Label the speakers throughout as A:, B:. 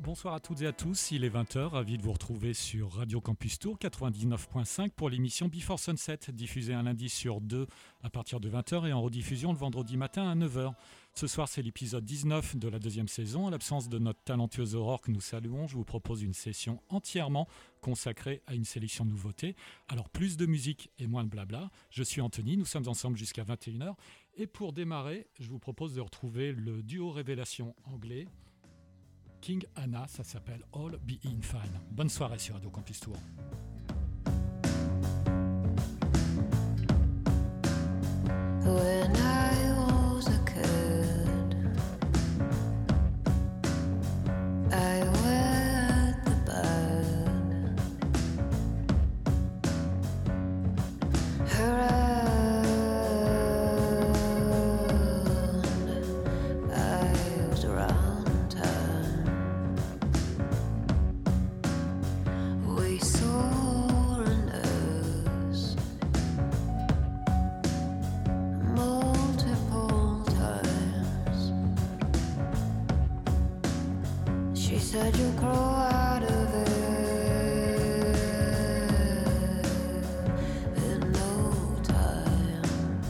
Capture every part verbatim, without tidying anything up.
A: Bonsoir à toutes et à tous, il est vingt heures, ravi de vous retrouver sur Radio Campus Tour quatre-vingt-dix-neuf point cinq pour l'émission Before Sunset, diffusée un lundi sur deux à partir de vingt heures et en rediffusion le vendredi matin à neuf heures. Ce soir, c'est l'épisode dix-neuf de la deuxième saison. À l'absence de notre talentueuse Aurore que nous saluons, je vous propose une session entièrement consacrée à une sélection de nouveautés. Alors, plus de musique et moins de blabla. Je suis Anthony, nous sommes ensemble jusqu'à vingt et une heures. Et pour démarrer, je vous propose de retrouver le duo révélation anglais King Anna, ça s'appelle All Being Fine. Bonne soirée sur Radio Campus Tour.
B: When I was a kid, I went the bed. Around, I was around town. We saw a nurse multiple times. She said you'll grow out of it in no time.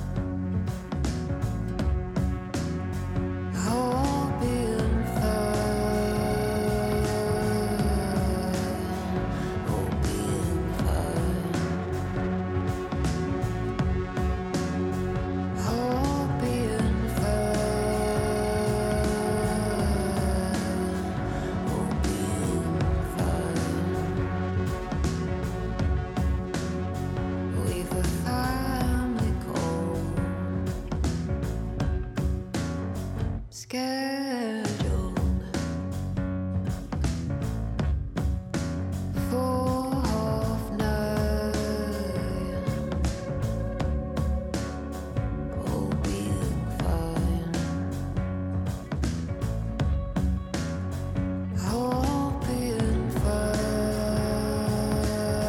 B: Oh, being fine, oh, being fine, oh, being fine, oh, being fine. We've a family call scheduled for half nine. Oh, being fine, oh, being fine,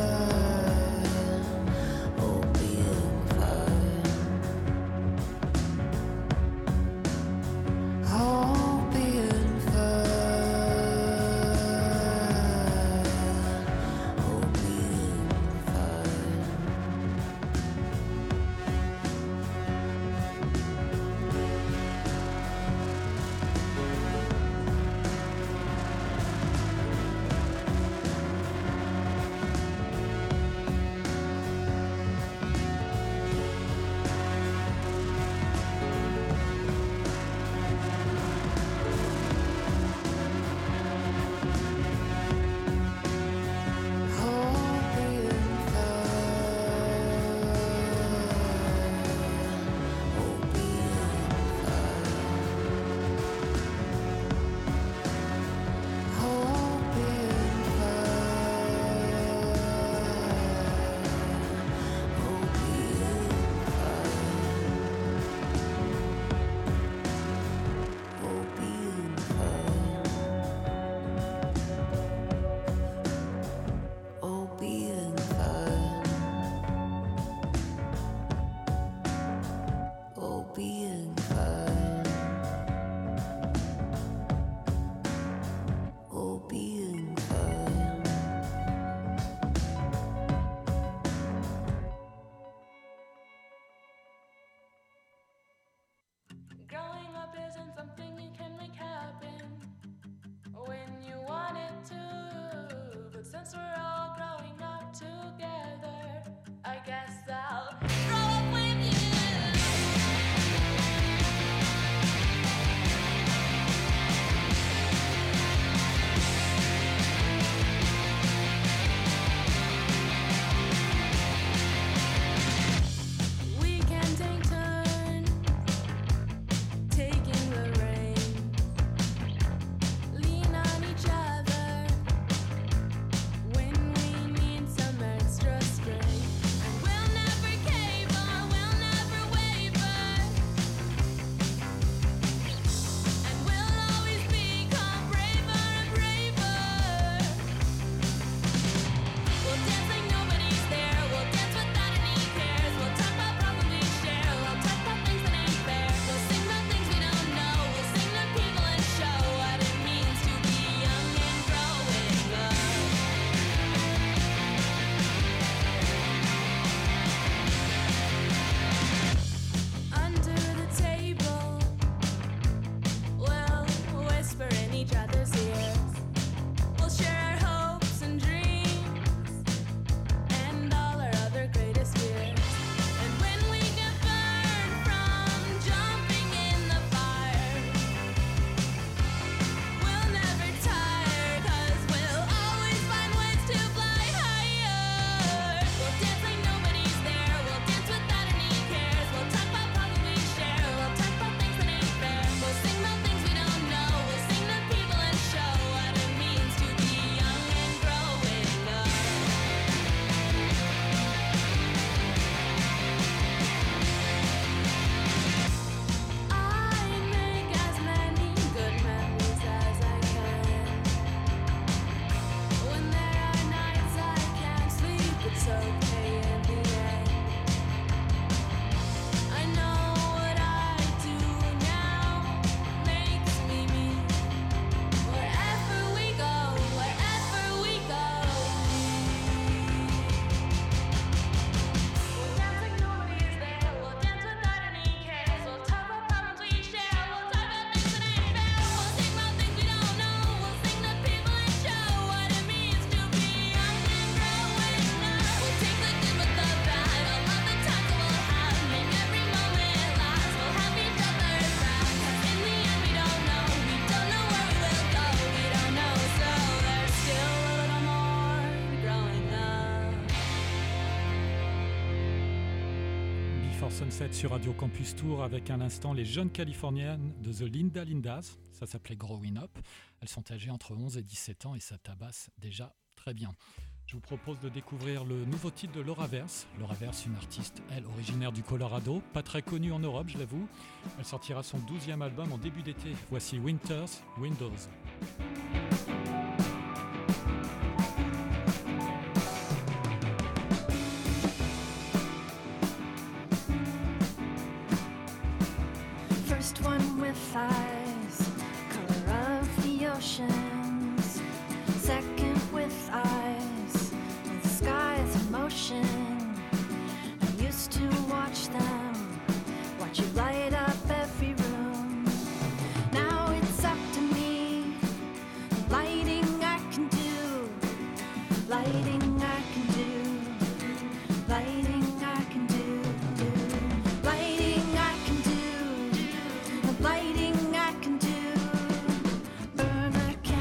B: oh, being fine, oh, being
C: each other's ears. We'll share our hopes and dreams and all our other greatest fears. And when we get burned from jumping in the fire, we'll never tire, 'cause we'll always find ways to fly higher. We'll dance like nobody's there, we'll dance without any cares. We'll talk about problems we share, we'll talk about things that ain't fair. We'll sing about things we don't know, we'll sing to people and show what it means to be young and growing up. I make as many good memories as I can. When there are nights I can't sleep, it's okay in the end. I know what I do now makes me me. Wherever we go, wherever we go. We'll dance like nobody is there, we'll dance without any cares. We'll talk about problems we share, we'll talk about things that ain't fair. We'll sing about things we don't know, we'll sing to people and show what it means to be young and growing up. We'll take the good with the bad, all of the times that we'll have, make every moment last. We'll have each other's back, 'cause in the end we don't know, we don't know where we will go, we don't know. So there's still a little more growing up.
A: Before Sunset sur Radio Campus Tour avec à l'instant les jeunes californiennes de The Linda Lindas. Ça s'appelait Growing Up. Elles sont âgées entre onze et dix-sept ans et ça tabasse déjà très bien. Je vous propose de découvrir le nouveau titre de Laura Verse. Laura Verse, une artiste, elle, originaire du Colorado, pas très connue en Europe, je l'avoue. Elle sortira son douzième album en début d'été. Voici Winter's Windows.
B: First one with eyes, color of the oceans. Second with eyes, with the sky's emotion. I used to watch them, watch you light up every room. Now it's up to me, lighting I can do, lighting I can do, lighting I can do, lighting I can do. The lighting I can do, burn a candle.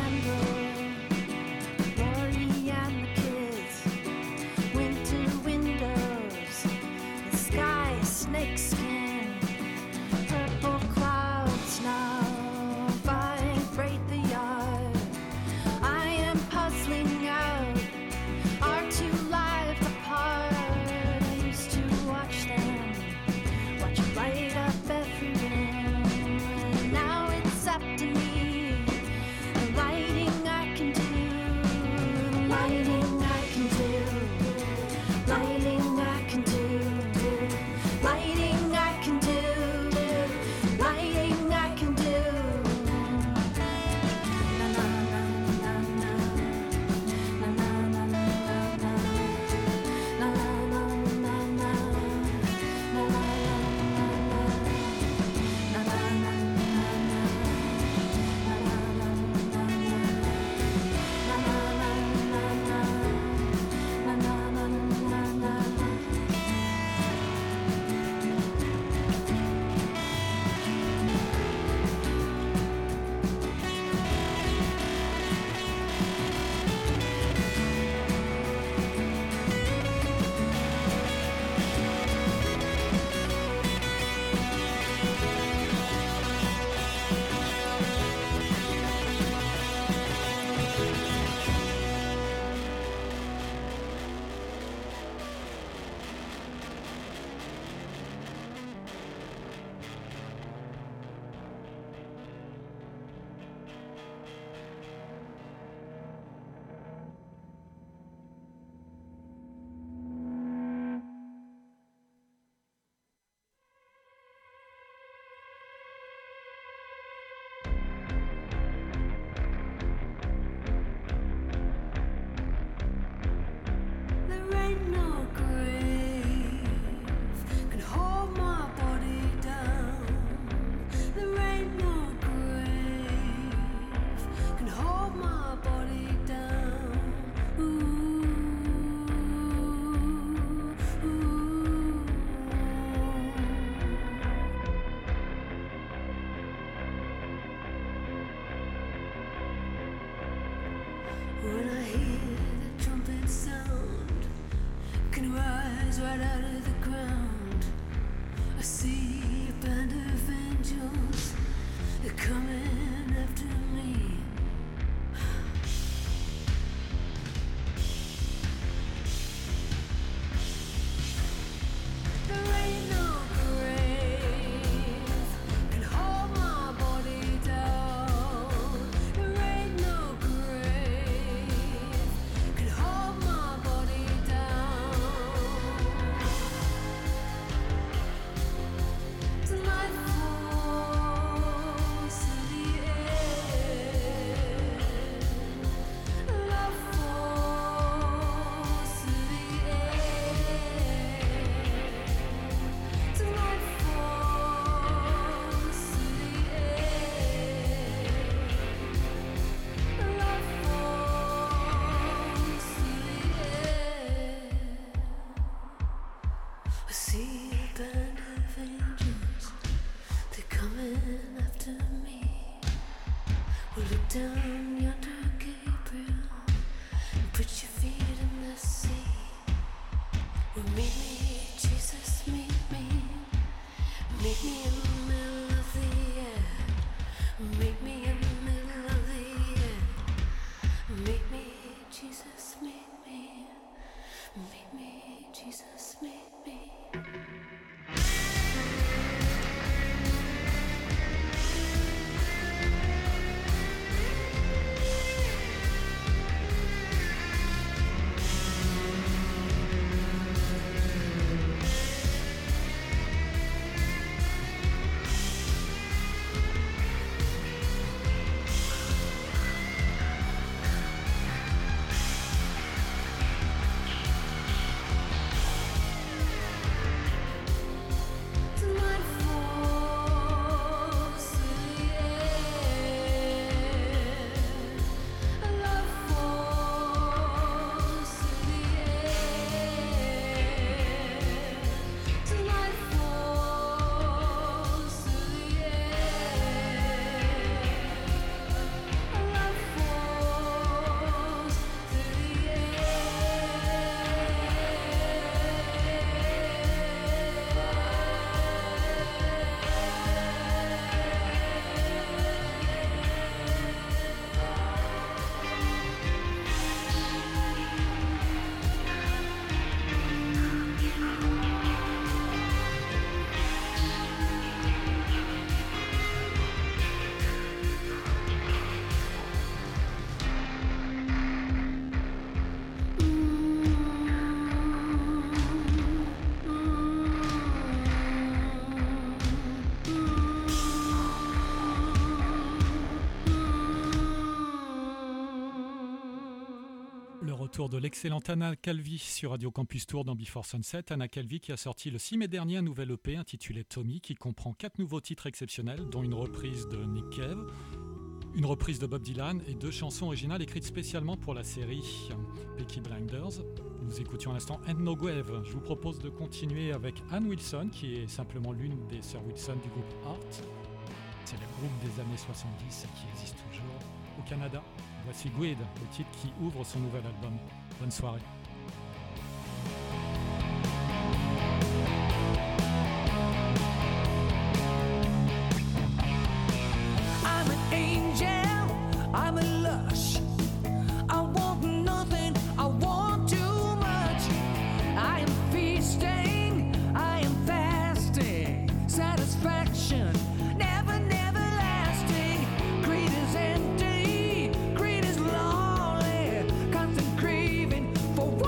D: When I hear the trumpet sound, can rise right out of the ground. I see a band of angels, they're coming after me. There ain't no grave can hold my body down. There ain't no grave can hold my body down. Tonight falls to the end. Love falls to the end. Tonight falls to the end. Love falls to the end. I see a band of angels, they're coming after me. Well, look down yonder, Gabriel, and put your feet in the sea. Well, meet me, Jesus, meet me. Meet me in the middle of the air. Meet me in the middle of the air. Meet me, Jesus, meet me. Meet me, Jesus, meet me. Tonight falls to the end. Love falls to the end. Tonight falls to the end. Love falls to the
A: Le retour de l'excellente Anna Calvi sur Radio Campus Tour dans Before Sunset. Anna Calvi qui a sorti le six mai dernier un nouvel E P intitulé Tommy qui comprend quatre nouveaux titres exceptionnels dont une reprise de Nick Cave, une reprise de Bob Dylan et deux chansons originales écrites spécialement pour la série Peaky Blinders. Nous écoutions à l'instant Ain't No Grave. Je vous propose de continuer avec Ann Wilson qui est simplement l'une des sœurs Wilson du groupe Art. C'est le groupe des années soixante-dix qui existe toujours au Canada. Voici Guide, le titre qui ouvre son nouvel album. Bonne soirée.
E: I'm an angel, I'm a lush. I want nothing, I want too much. I am feasting, I am fasting. Satisfaction, never, never lasting. Greed is empty, greed is lonely. Constant craving for what?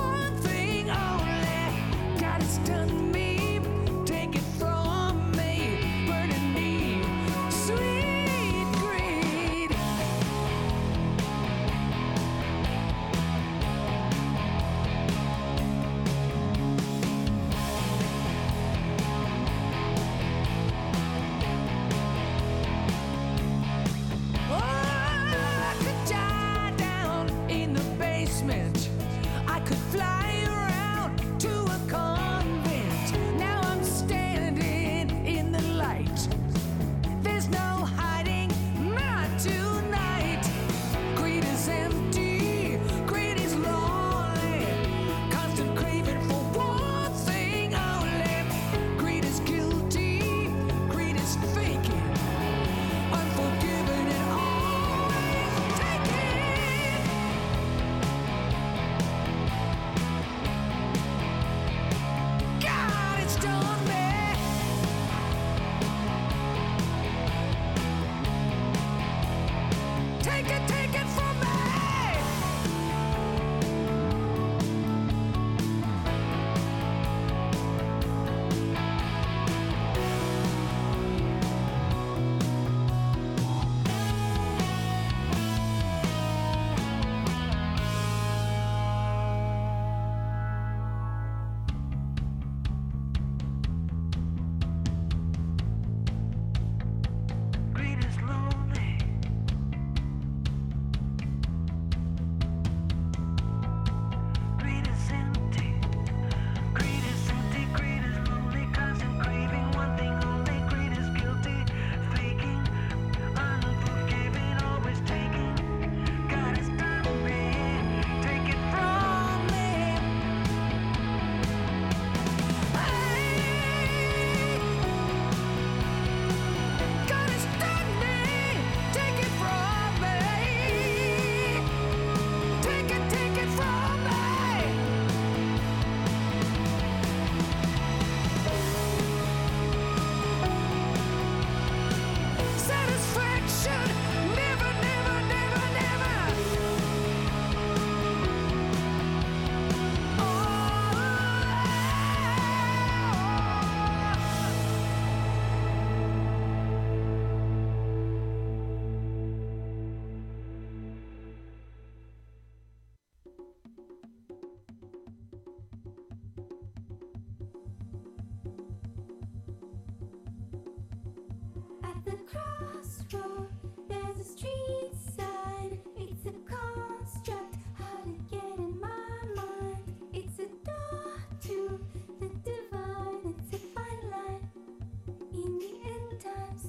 D: crossroad, there's a street sign. It's a construct, how to get in my mind. It's a door to the divine. It's a fine line in the end times.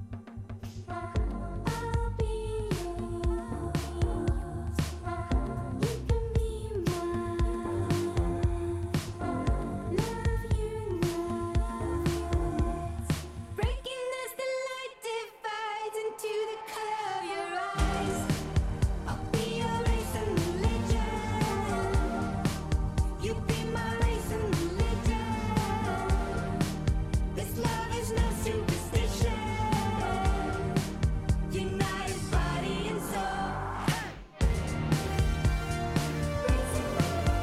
D: I'll be yours. You can be mine. Love you now. Breaking as the light divides into the color of your eyes. I'll be your race and religion. You be my race and religion. This love is no superstition. United body and soul. Race and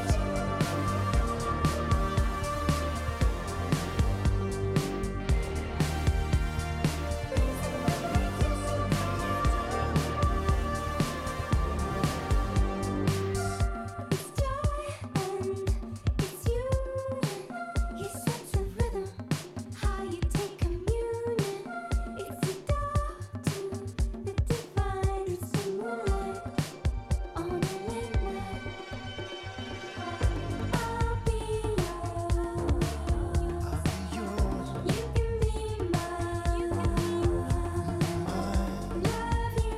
D: It's joy and it's you. He sets a rhythm, how you take communion. It's a door to the divine. It's the moonlight on a late night. I'll be yours. You can be mine. Love you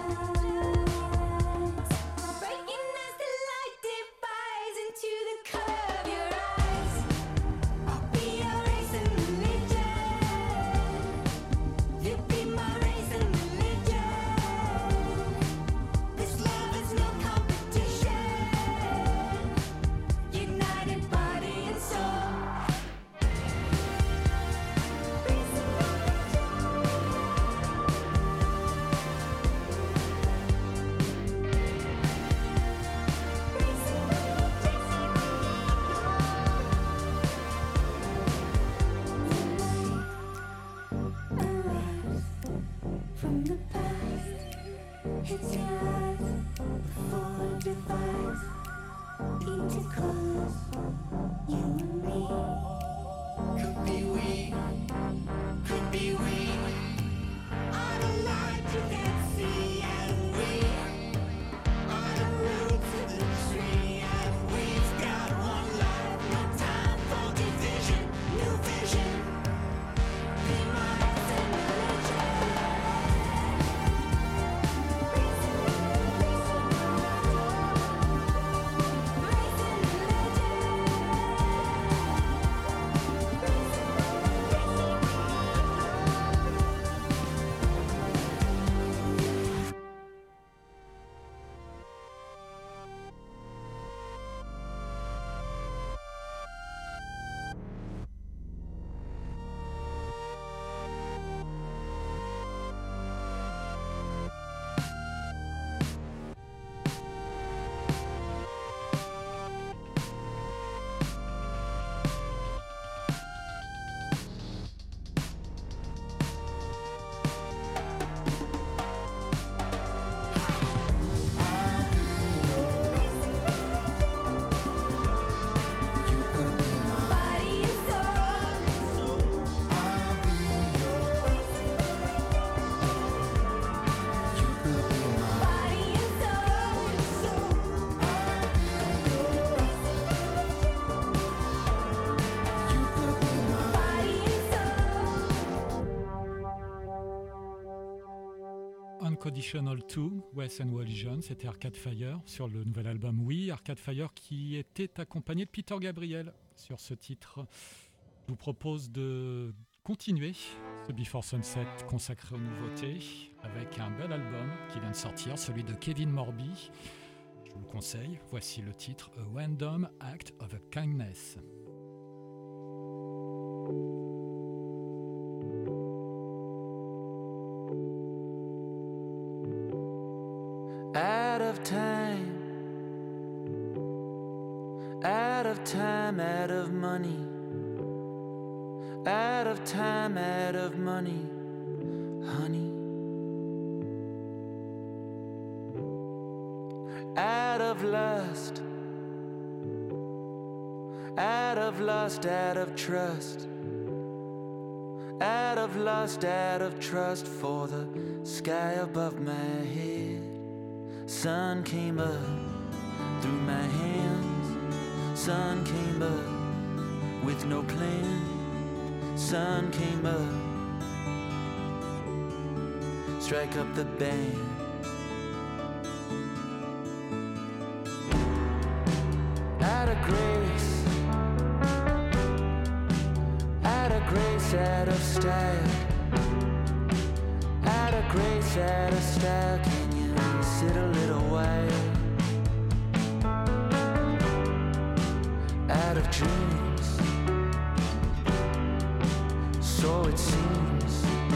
D: nights. Breaking as the light divides into the color of your eyes. I'll be your race and religion. You be my race and religion. This love is no competition. United body and soul. Race and from the past, it's yours before it divides into colors. You and me could be we, could be we. On a light you can't see, and we are the roots of the tree, and we've got one life, no time for division, new vision. Be my race and religion. Race and
A: Unconditional deux, Wes and Walligen, c'était Arcade Fire sur le nouvel album Oui, Arcade Fire qui était accompagné de Peter Gabriel sur ce titre. Je vous propose de continuer ce Before Sunset consacré aux nouveautés avec un bel album qui vient de sortir, celui de Kevin Morby. Je vous le conseille, voici le titre A Random Act of a Kindness.
F: Out of time, out of time, out of money, out of time, out of money, honey. Out of lust, out of lust, out of trust, out of lust, out of trust for the sky above my head. Sun came up through my hands. Sun came up with no plan. Sun came up, strike up the band. Out of grace, out of grace, out of style. Out of grace, out of style. Can you sit a little while? Out of dreams, so it seems.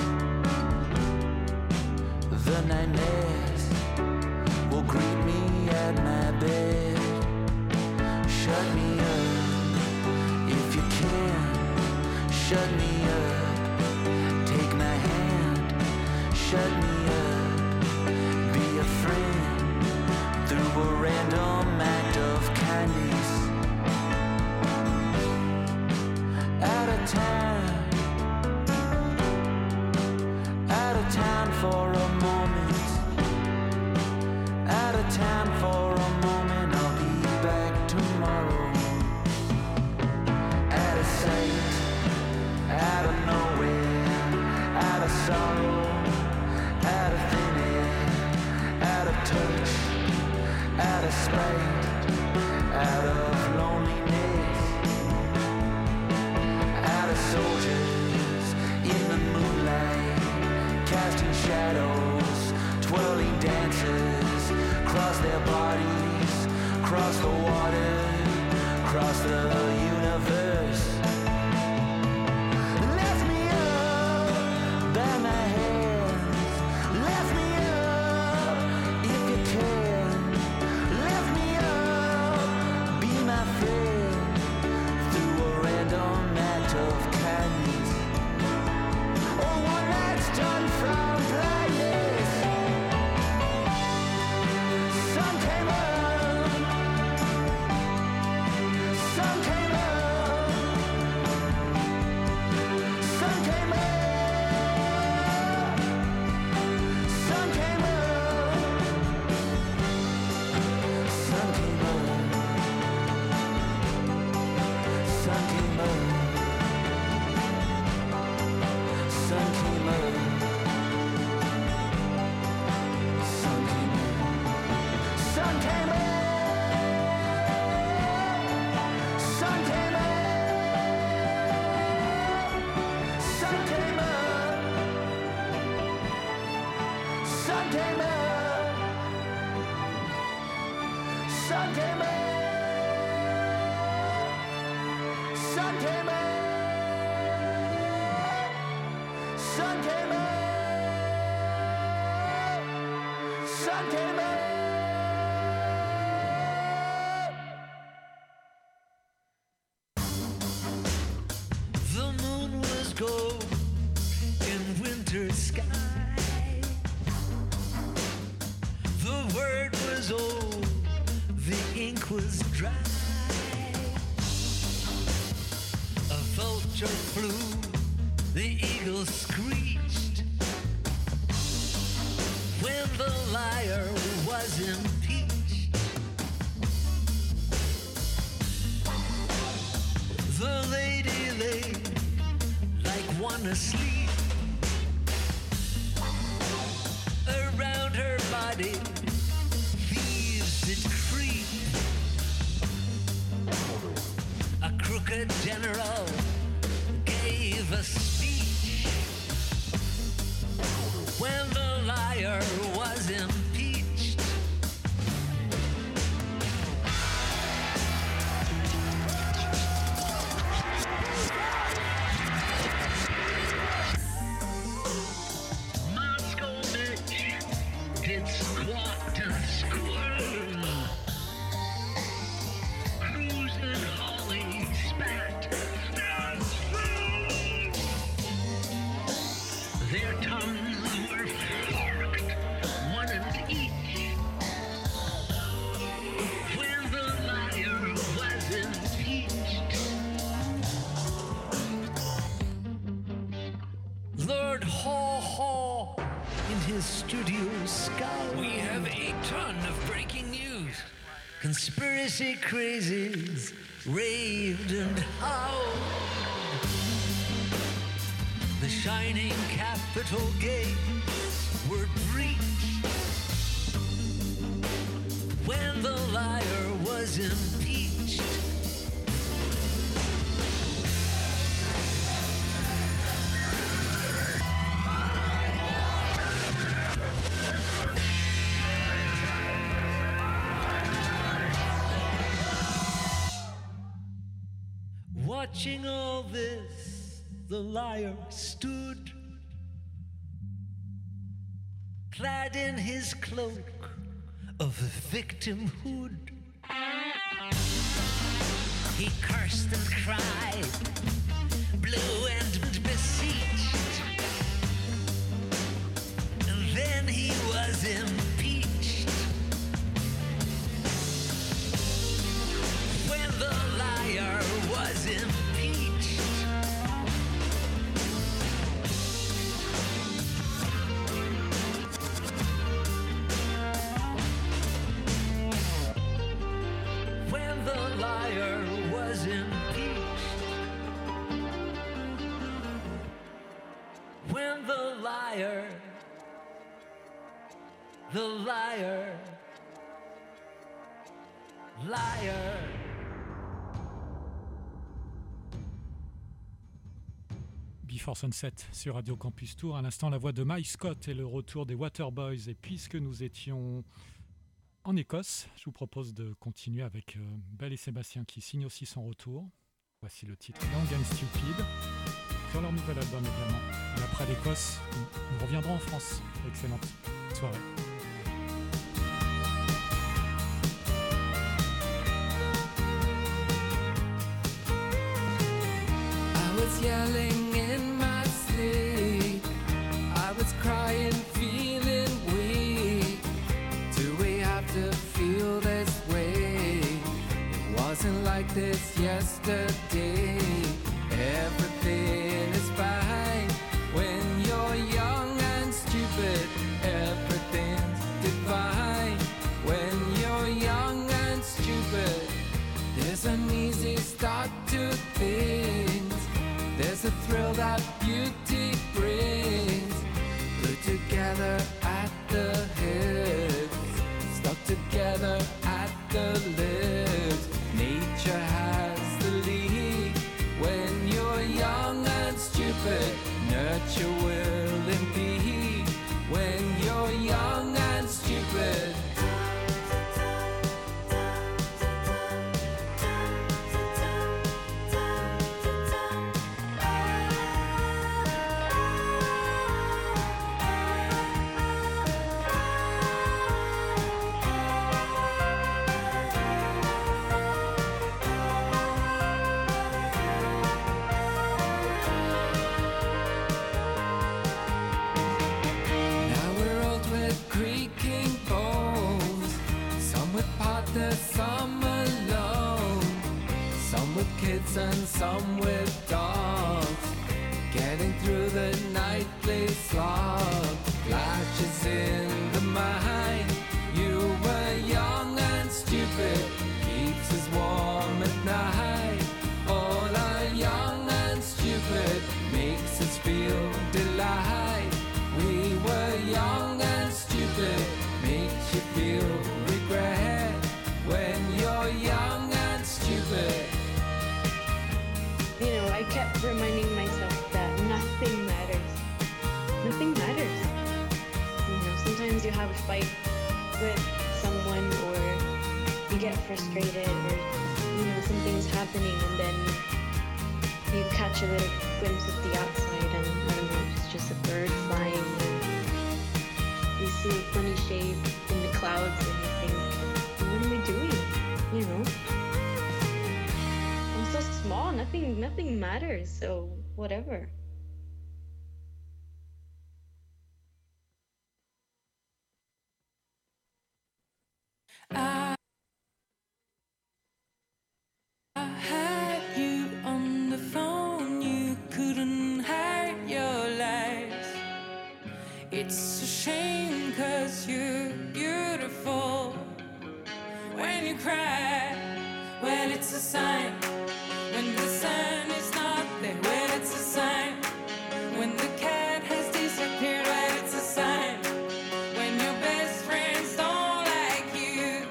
F: The nightmares will greet me at my bed. Shut me up if you can. Shut me up, take my hand. Shut me up, be a friend through a random act of kindness. Out of time, out of time for a moment. Out of time for a moment. I'll be back tomorrow. Out of sight, out of nowhere, out of sorrow, out of thin air, out of touch, out of spite, out of loneliness, out of soldiers in the moonlight, casting shadows, twirling dances, cross their bodies, cross the water, cross the universe. Lift me up by my hands. Lift me up if you can. Lift me up, be my friend through a random act of kindness. Or one that's done from blindness. Sun came up. Sun came up. Sun came up. Sun came up. Sun came up. Sun came up. Sun came up. Sun came up. Sun came up. Sun came up. Sun came up. Sun came up. Sun came up. Sun came up. Sun came up. Sun came up.
G: The moon was gold in winter sky. The word was old, the ink was dry. A vulture flew, the eagle screeched. When the liar was impeached, the lady lay like one asleep. Around her body, thieves did creep. A crooked general gave a speech. When the liar was impeached, Moscow Mitch did squawk and squirm. Cruising Holly spat and swirled. Their tongues were forked, one and each. When the liar was impeached, Conspiracy crazies raved and howled. The shining Capitol gates were breached when the liar was impeached. Watching all this, the liar stood, clad in his cloak of victimhood. He cursed and cried, blew and beseeched, and then he was impeached. When the liar was impeached, when the liar was impeached, when the liar, the liar, liar.
A: Before Sunset sur Radio Campus Tour. À l'instant, la voix de Mike Scott et le retour des Waterboys. Et puisque nous étions en Écosse, je vous propose de continuer avec euh, Belle et Sébastien qui signe aussi son retour. Voici le titre Young and Stupid sur leur nouvel album également. Et après l'Écosse, nous, nous reviendrons en France. Excellente soirée.
E: I was yelling in my sleep. I was crying, feeling weak. Do we have to feel this way? It wasn't like this yesterday. Everything is fine when you're young and stupid. Everything's divine when you're young and stupid. There's an easy start to things. There's a thrill that beauty brings. Put together at the hips, stuck together at the lips. Nature has the lead when you're young and stupid. Nurture will impede when you're young and stupid. Now we're old with creaking bones. Some with partners, some alone. Some with kids and some with dogs. Getting through the nightly slog. Flashes in the mind. You were young and stupid. Keeps us warm at night. All are young and stupid. Makes us feel delight. We were young and stupid. Makes you feel regret when you're young and stupid.
H: You know, I kept reminding myself that nothing matters. Nothing matters. You know, sometimes you have a fight with someone or you get frustrated or, you know, something's happening and then you catch a little glimpse of the outside and, I don't know, it's just a bird flying and you see a funny shape in the clouds and you think, what am I doing? You know? I'm so small, nothing nothing matters, so whatever.
E: I had you on the phone, you couldn't hide your lies. It's a shame cause you're beautiful when you cry when it's a sign. When the sun is not there, when it's a sign. When the cat has disappeared, when it's a sign. When your best friends don't like you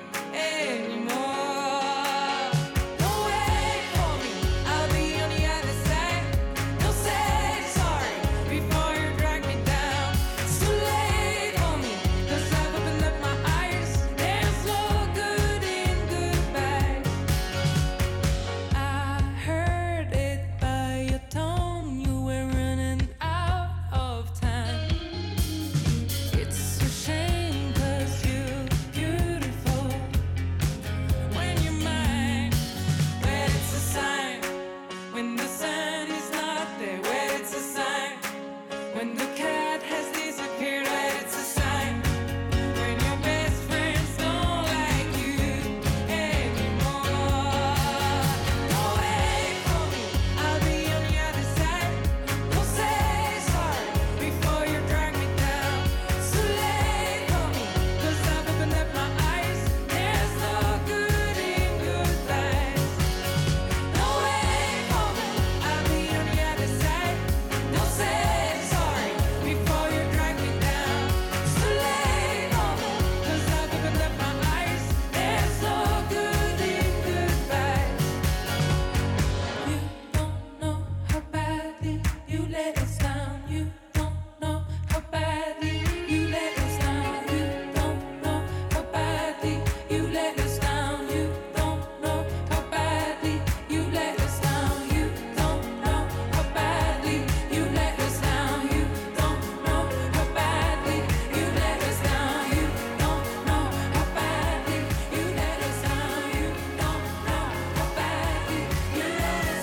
E: anymore. Don't wait for me, I'll be on the other side. Don't say sorry before you drag me down. It's too late for me, 'cause I've opened up my eyes. There's no good in goodbye. I heard it by your tone, you were running out of time. It's a shame 'cause you're beautiful when you're mine. When it's a sign, when the sun is not there, when it's a sign. When the cat has disappeared, when it's a sign. When your best friends don't like you anymore. Don't wait for me, I'll be on the other side. Don't say sorry before you drag me down. It's too late for me, 'cause I've opened up my eyes. There's no good in goodbyes. Don't wait for me, I'll be on the other side. Don't say sorry before you drag me down. It's too late for me, 'cause I've opened up my eyes. There's no good in goodbyes. You don't know how badly you let us down. You don't know how badly you let us down. You don't know how badly you let us down. You don't know how badly you let us down. You don't know how badly you let us down. You don't know how badly you let us down. You don't know how badly you let us down. You don't know how badly you let us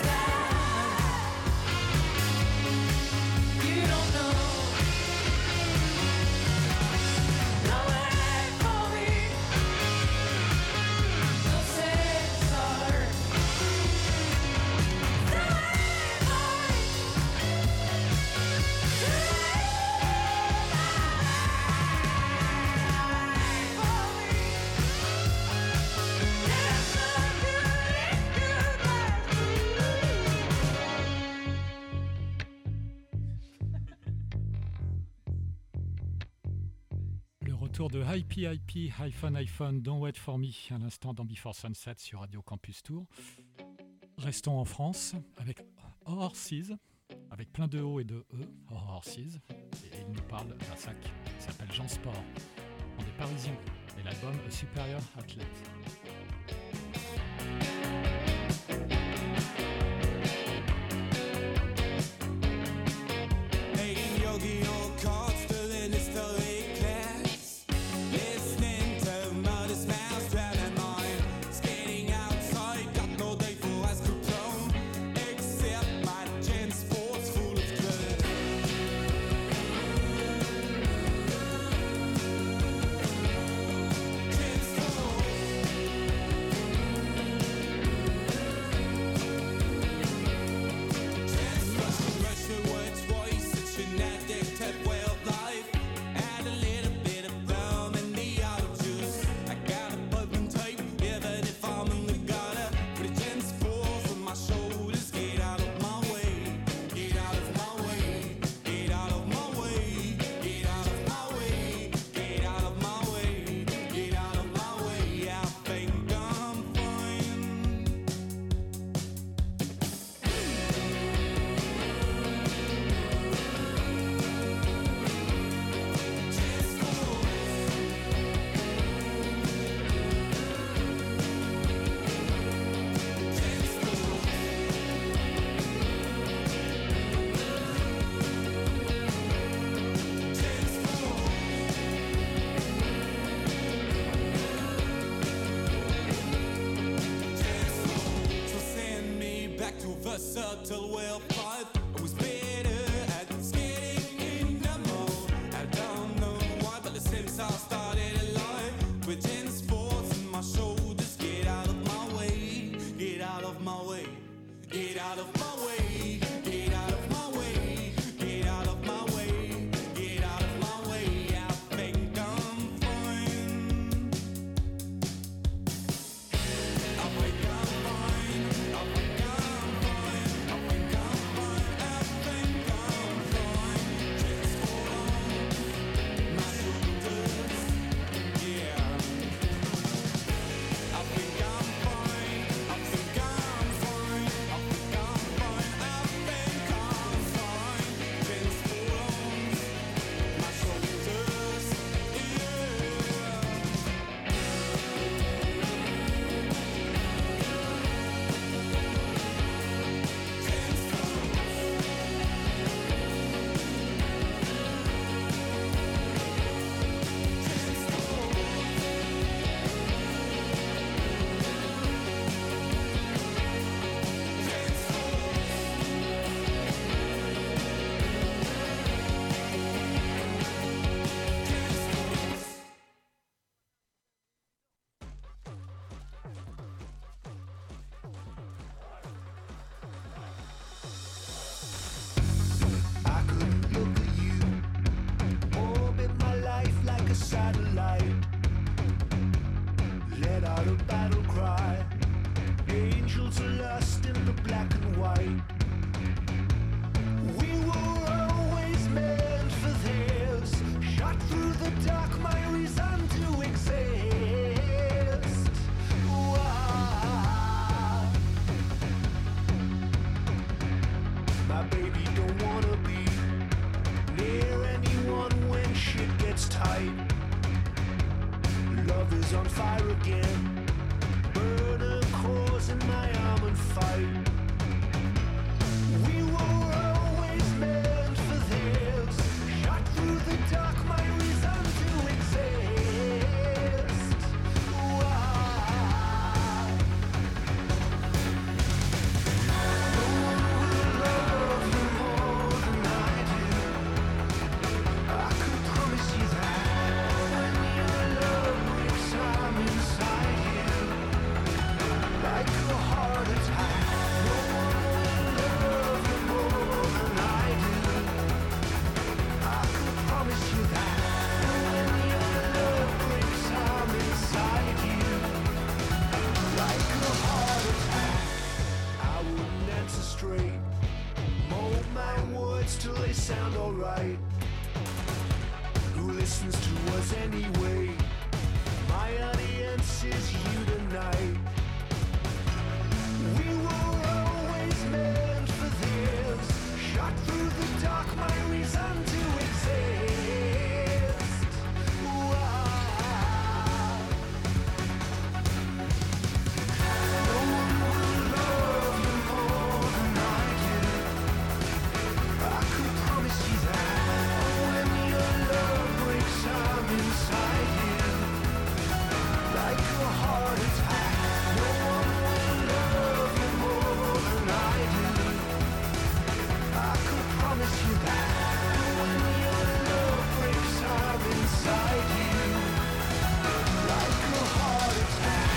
E: down. You don't know. Don't wait for me. Don't say sorry. Don't wait for me.
A: Le retour de Hype Hype iPhone iPhone Don't Wait For Me à l'instant dans Before Sunset sur Radio Campus Tour. Restons en France avec Horses, avec plein de O et de E, Horses, et il nous parle d'un sac qui s'appelle Jean Sport. On est parisiens et l'album A Superior Athlete.
I: Making yogi or cards, still in history class. Listening to modest mouths, drowning mine. Skating outside, got no day for ice cream cone. Except my gin sports full of good. Gin sports. Subtle well five. I was better at skating in the mall. I don't know why, but since I started alive with gin sports in my shoulders, get out of my way, get out of my way, get out of my way, get out of my way, get out of my way, get out of my way. I think I'm fine.
G: is on fire again. Burn a cause in my arm and fight. We were always meant for this. Shot through the dark, my reason to exist. Why? No one will love you more than I do. I could promise you that when your love breaks, I'm inside you, like a heart attack. No one will love you more than I do. I could promise you that when your love breaks, I'm inside you, like a heart attack. I wouldn't answer straight, mold my words till they sound alright. Who listens to us anyway? My audience is you tonight. We were always meant for this. Shot through the dark, my reason to exist. Why? No one will love you more than I do. I could promise you that when your love breaks, I'm inside you, like a heart attack. No one will love you more than I do. I could promise you that when your love breaks, I'm inside you, like a heart attack.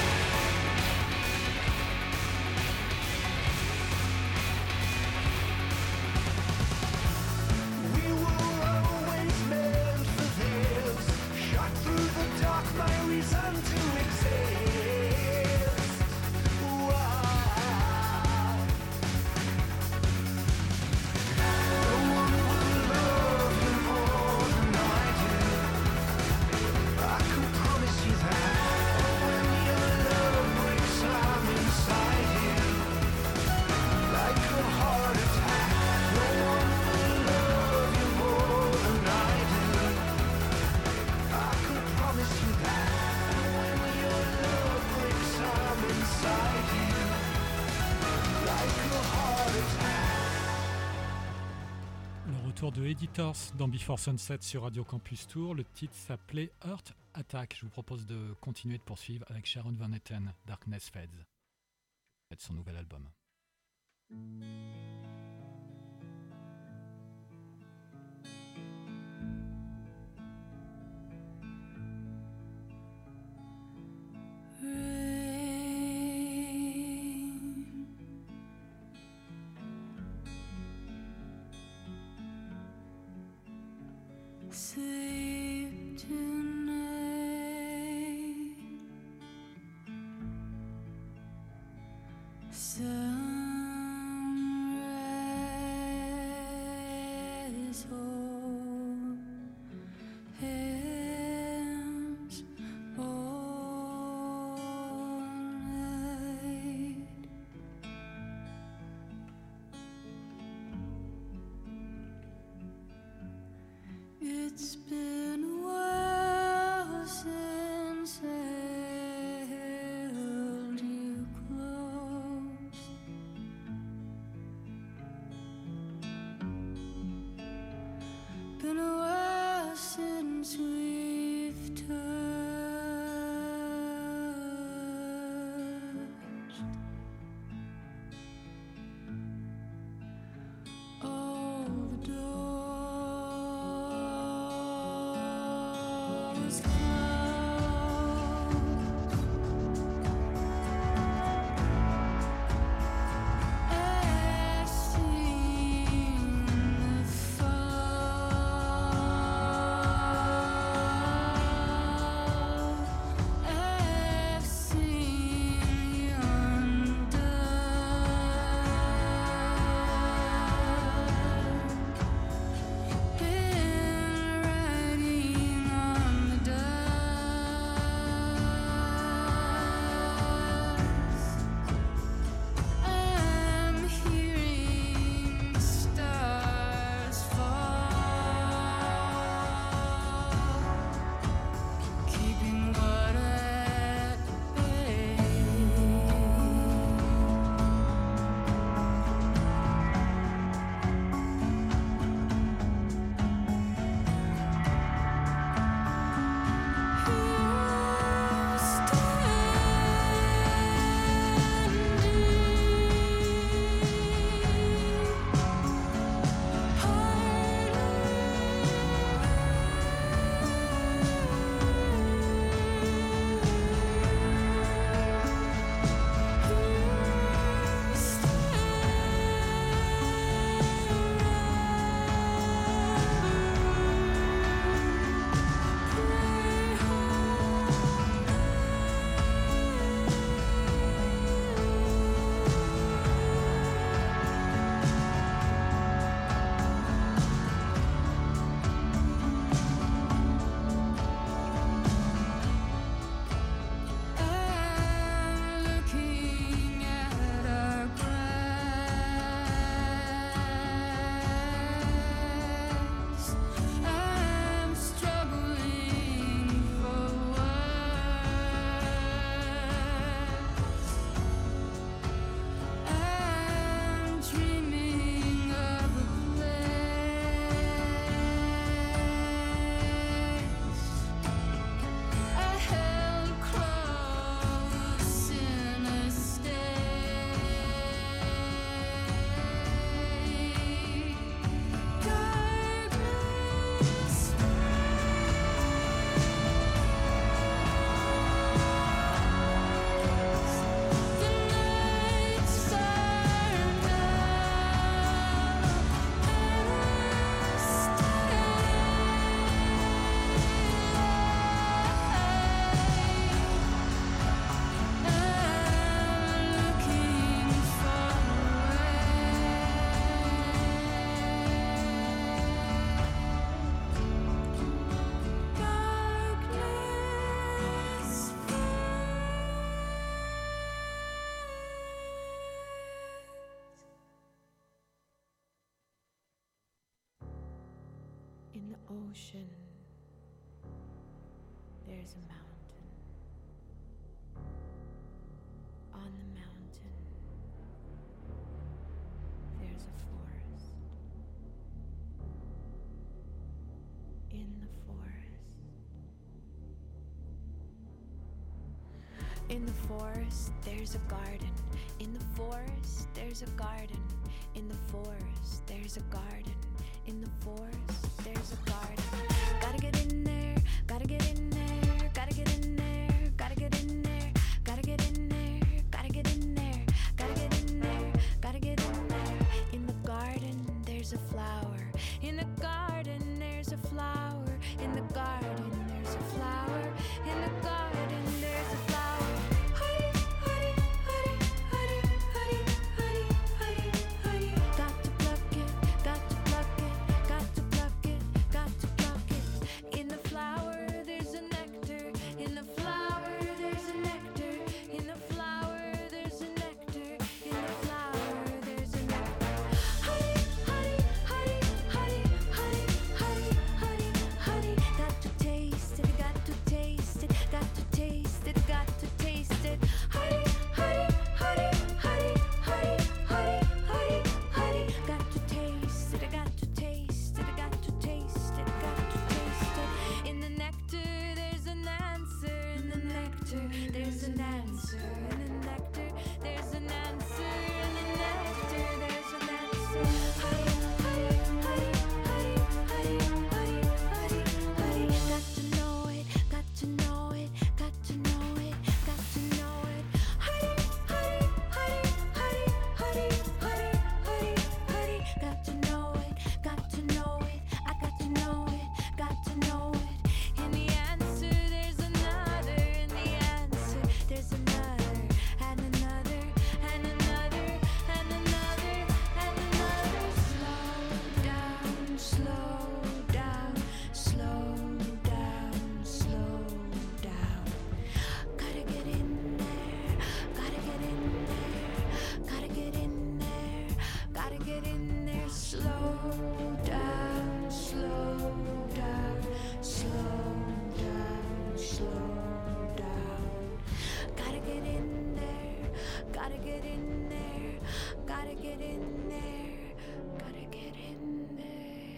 G: We were always meant for this. Shot through the dark, my reason to exist. Why? No one will love you more than I do. I could promise you that when your love breaks, I'm inside you, like a heart attack. No one will love you more than I do. I could promise you that when your love breaks, I'm inside you, like a heart attack.
A: Le retour de Editors dans Before Sunset sur Radio Campus Tour. Le titre s'appelait Heart Attack. Je vous propose de continuer de poursuivre avec Sharon Van Etten, Darkness Fades. C'est son nouvel album.
D: Rain, sleep tonight. Sunrise, hold hands all night. It's been a while since I held you close. ocean, there's a mountain. On the mountain, there's a forest. In the forest, in the forest, there's a garden. In the forest, there's a garden. In the forest, there's a garden. In the forest, there's a garden. Gotta get in there, gotta get in there, gotta get in there, gotta get in there, gotta get in there, gotta get in there, gotta get in there, gotta get in there. In the garden, there's a flower. In the garden, there's a flower. In the garden, there's a flower. In the garden, there's a flower. Honey, honey, honey, honey, honey, honey, honey, honey. Got to pluck it, got to pluck it, got to pluck it, got to pluck it. In the flower, there's a nectar. In the flower, there's a nectar. In the flower, there's a nectar. In the flower, there's a nectar. Honey, honey, honey, honey, honey, honey, honey, honey. Got to taste it, got to taste it, got to taste it, got to taste it. Honey, honey, honey, honey, honey, honey, honey, honey. Got to taste it, I got to taste it, I got to taste it, got to taste it. In the nectar, there's an answer. In the nectar, there's an answer. In the nectar, there's an answer. In the nectar, there's an answer. Honey, honey, honey, honey, honey, honey, honey, honey. Got to know it, got to know it, got to know it, got to know it. Honey, honey, honey, honey, honey, honey, honey, honey. Got to know it, got to know it, I got to know it, got to know it. In the answer, there's another. In the answer, there's another, and another, and another, and another, and another. Slow down, slow down, slow down, slow down. Gotta get in there, gotta get in there, gotta get in there, gotta get in there. Slow down, slow down, slow down, slow down. Gotta get in there, gotta get in there, gotta get in there, gotta get in there.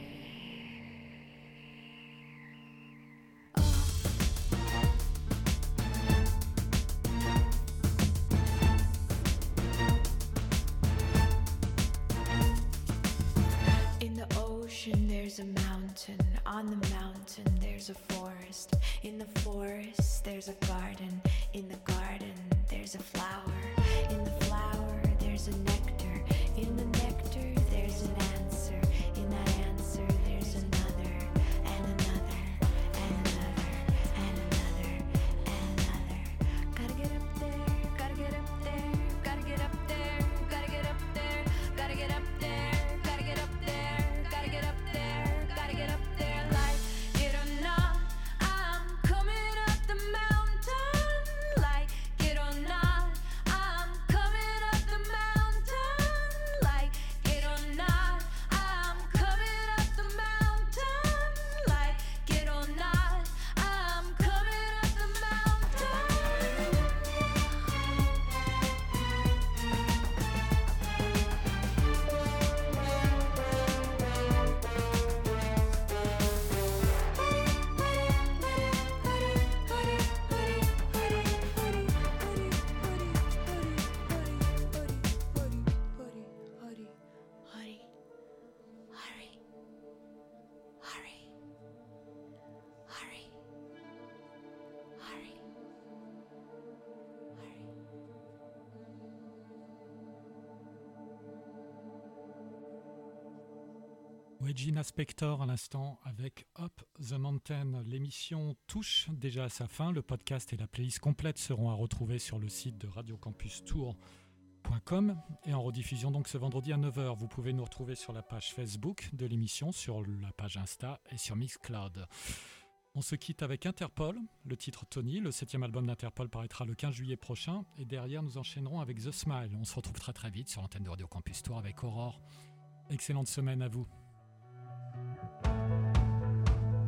D: In the ocean, there's a mountain. On the mountain, there's a forest. In the forest, there's a garden. In the garden, there's a flower. In the flower, there's a nectar. In the nectar, there's an answer. In that answer, there's another, and another, and another, and another, and another. Gotta get up there, gotta get up there, gotta get up there, gotta get up there, gotta get up there, gotta get up there, gotta get up there, gotta get up there. Like it or not, I'm coming up the mountain. Like it or not, I'm coming up the mountain. Like it or not, I'm coming up the mountain. Like it or not, I'm coming up the mountain.
A: Regina Spektor à l'instant avec Up the Mountain. L'émission touche déjà à sa fin. Le podcast et la playlist complète seront à retrouver sur le site de radio campus tour point com et en rediffusion donc ce vendredi à neuf heures. Vous pouvez nous retrouver sur la page Facebook de l'émission, sur la page Insta et sur Mixcloud. On se quitte avec Interpol, le titre Tony. Le septième album d'Interpol paraîtra le quinze juillet prochain et derrière nous enchaînerons avec The Smile. On se retrouve très très vite sur l'antenne de Radio Campus Tour avec Aurore. Excellente semaine à vous.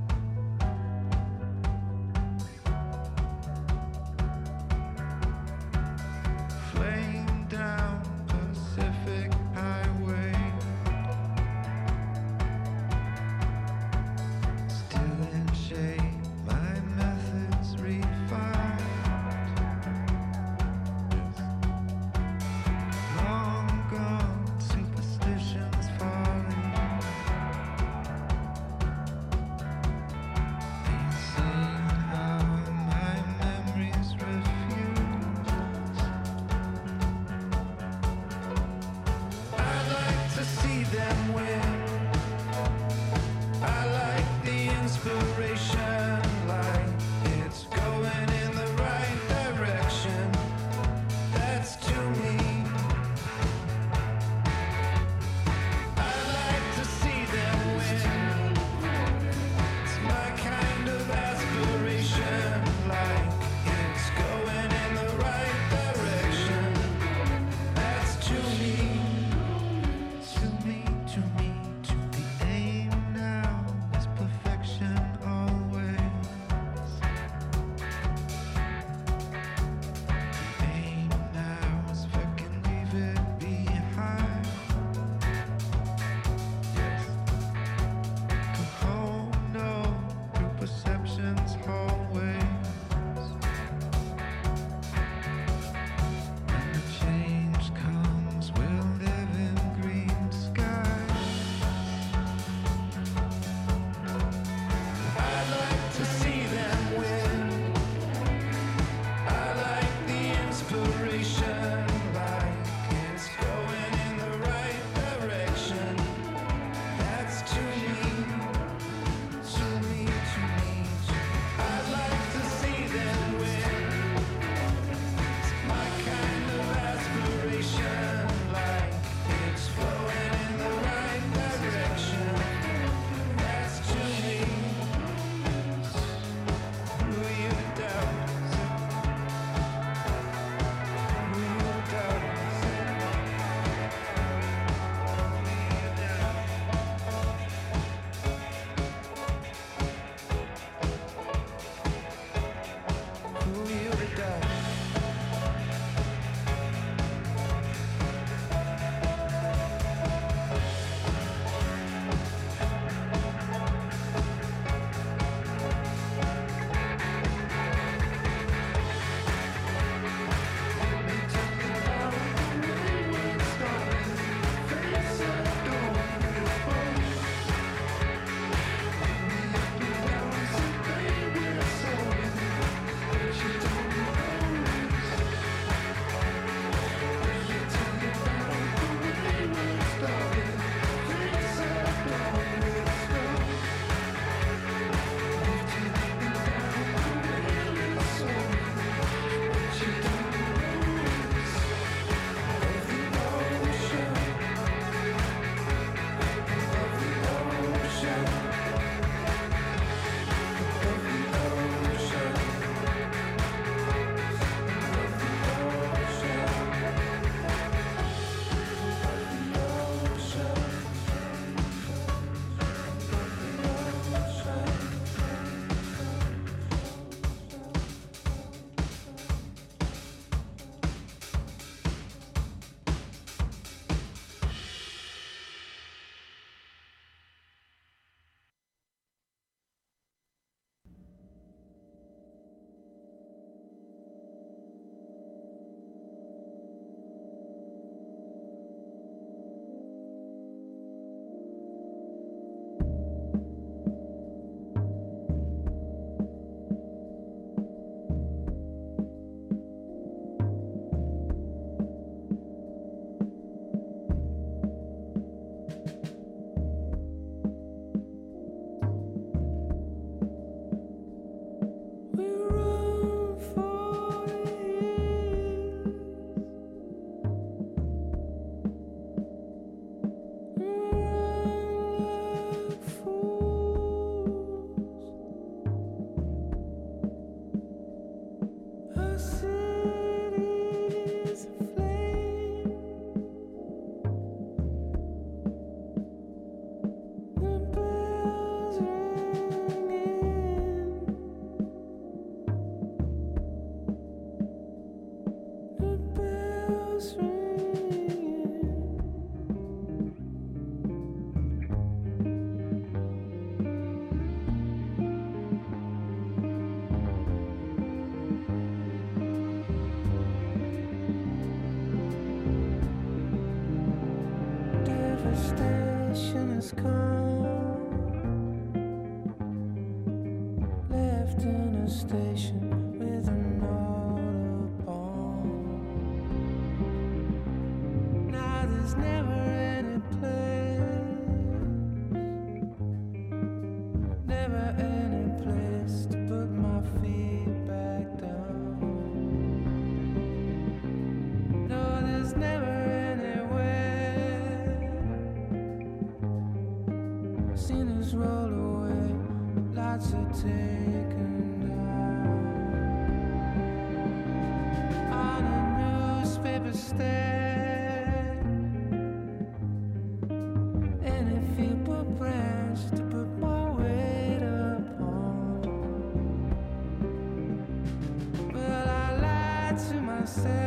G: bells ring. Devastation has come, left in a station with an autobahn. Now there's never any place, never any place to put my feet back down. No, there's never anywhere. Seen us roll away, lots are taken down. On a newspaper stand, any feeble branch to put my weight upon. Well, I lied to myself.